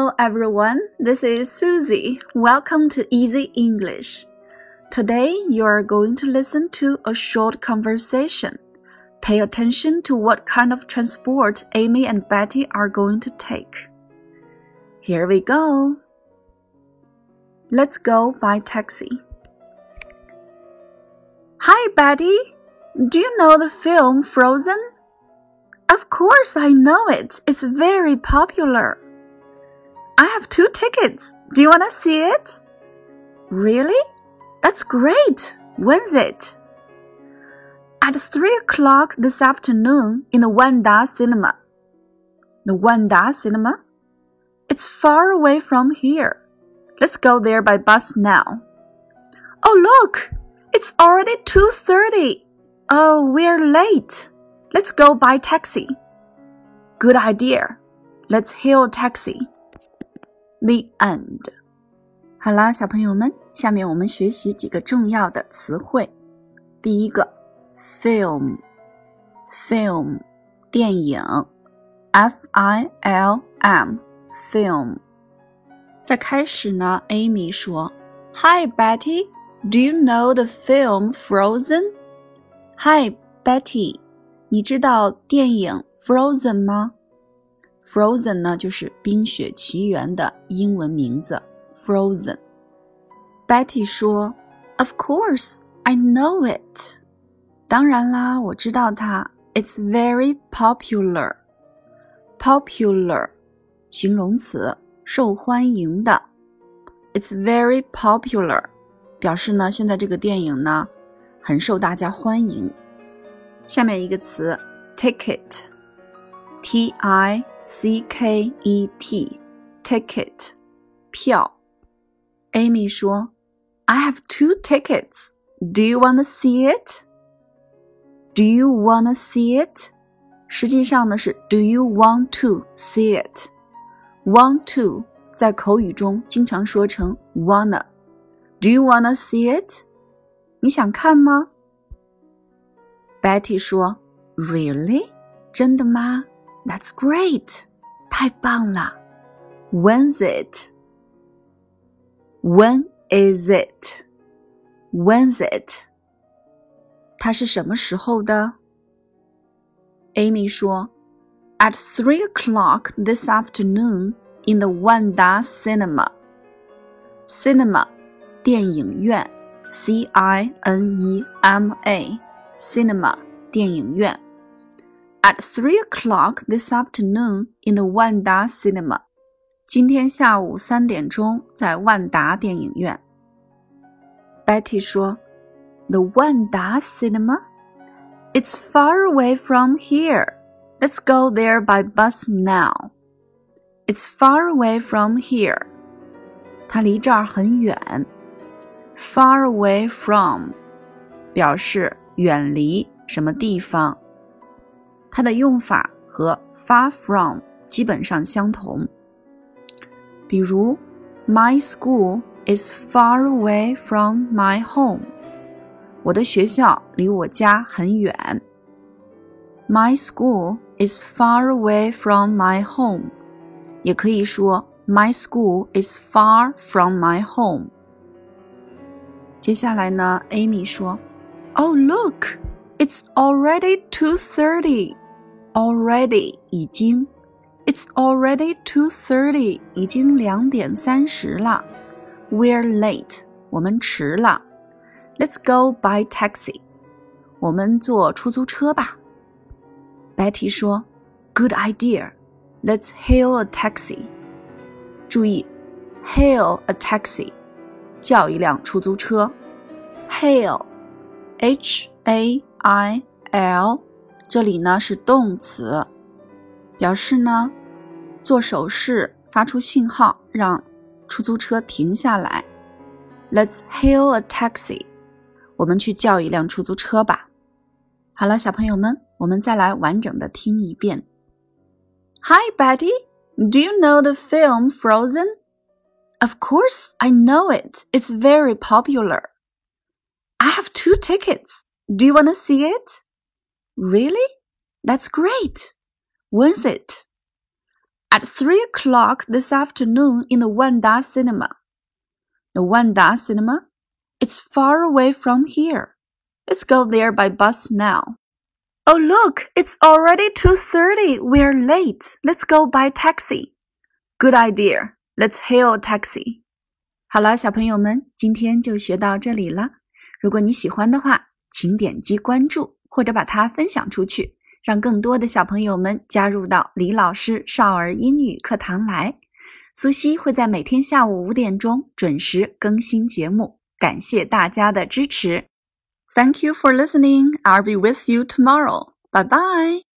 Hello everyone, this is Susie. Welcome to Easy English. Today you are going to listen to a short conversation. Pay attention to what kind of transport Amy and Betty are going to take. Here we go. Let's go by taxi. Hi Betty, do you know the film Frozen? Of course I know it. It's very popular.I have 2 tickets. Do you want to see it? Really? That's great. When's it? At 3 o'clock this afternoon in the Wanda Cinema. The Wanda Cinema? It's far away from here. Let's go there by bus now. Oh, look! It's already 2:30. Oh, we're late. Let's go by taxi. Good idea. Let's hail a taxi.The end. 好啦，小朋友们，下面我们学习几个重要的词汇。第一个 film 电影 F-I-L-M film 在开始呢 Amy 说 Hi Betty, do you know the film Frozen? Hi Betty, 你知道电影 Frozen 吗Frozen 呢就是冰雪奇缘的英文名字 Frozen Betty 说 Of course, I know it 当然啦，我知道它 It's very popular Popular 形容词受欢迎的 It's very popular 表示呢现在这个电影呢很受大家欢迎下面一个词 Ticket T-I-C-K-E-T Ticket 票 Amy 说 I have 2 tickets. Do you want to see it? Do you want to see it? 实际上呢是 Do you want to see it? Want to 在口语中经常说成 wanna. Do you want to see it? 你想看吗 Betty 说 Really? 真的吗That's great. 太棒了 When's it? When is it? When's it? 它是什么时候的 Amy 说 At 3 o'clock this afternoon in the Wanda Cinema. Cinema, 电影院 C-I-N-E-M-A Cinema, 电影院At 3 o'clock this afternoon in the Wanda Cinema. 今天下午3点钟在万达电影院。Betty 说 The Wanda Cinema? It's far away from here. Let's go there by bus now. It's far away from here. 它离这儿很远。Far away from 表示远离什么地方。它的用法和 far from 基本上相同。比如 My school is far away from my home. 我的学校离我家很远。My school is far away from my home. 也可以说 My school is far from my home. 接下来呢 Amy 说 Oh look, it's already 2:30. Already 已经 It's already 2:30 已经2点30了 We're late 我们迟了 Let's go by taxi 我们坐出租车吧 Betty 说 Good idea Let's hail a taxi 注意 Hail a taxi 叫一辆出租车 Hail H-A-I-L这里呢是动词表示呢做手势发出信号让出租车停下来 Let's hail a taxi 我们去叫一辆出租车吧好了小朋友们我们再来完整的听一遍 Hi Betty, do you know the film Frozen? Of course I know it. It's very popular. I have 2 tickets. Do you want to see it? Really? That's great. When's it? At 3 o'clock this afternoon in the Wanda Cinema. The Wanda Cinema? It's far away from here. Let's go there by bus now. Oh, look, it's already 2:30. We're late. Let's go by taxi. Good idea. Let's hail a taxi. 好了，小朋友们，今天就学到这里了。如果你喜欢的话，请点击关注或者把它分享出去，让更多的小朋友们加入到李老师少儿英语课堂来。苏西会在每天下午5点钟准时更新节目，感谢大家的支持。Thank you for listening. I'll be with you tomorrow. Bye bye.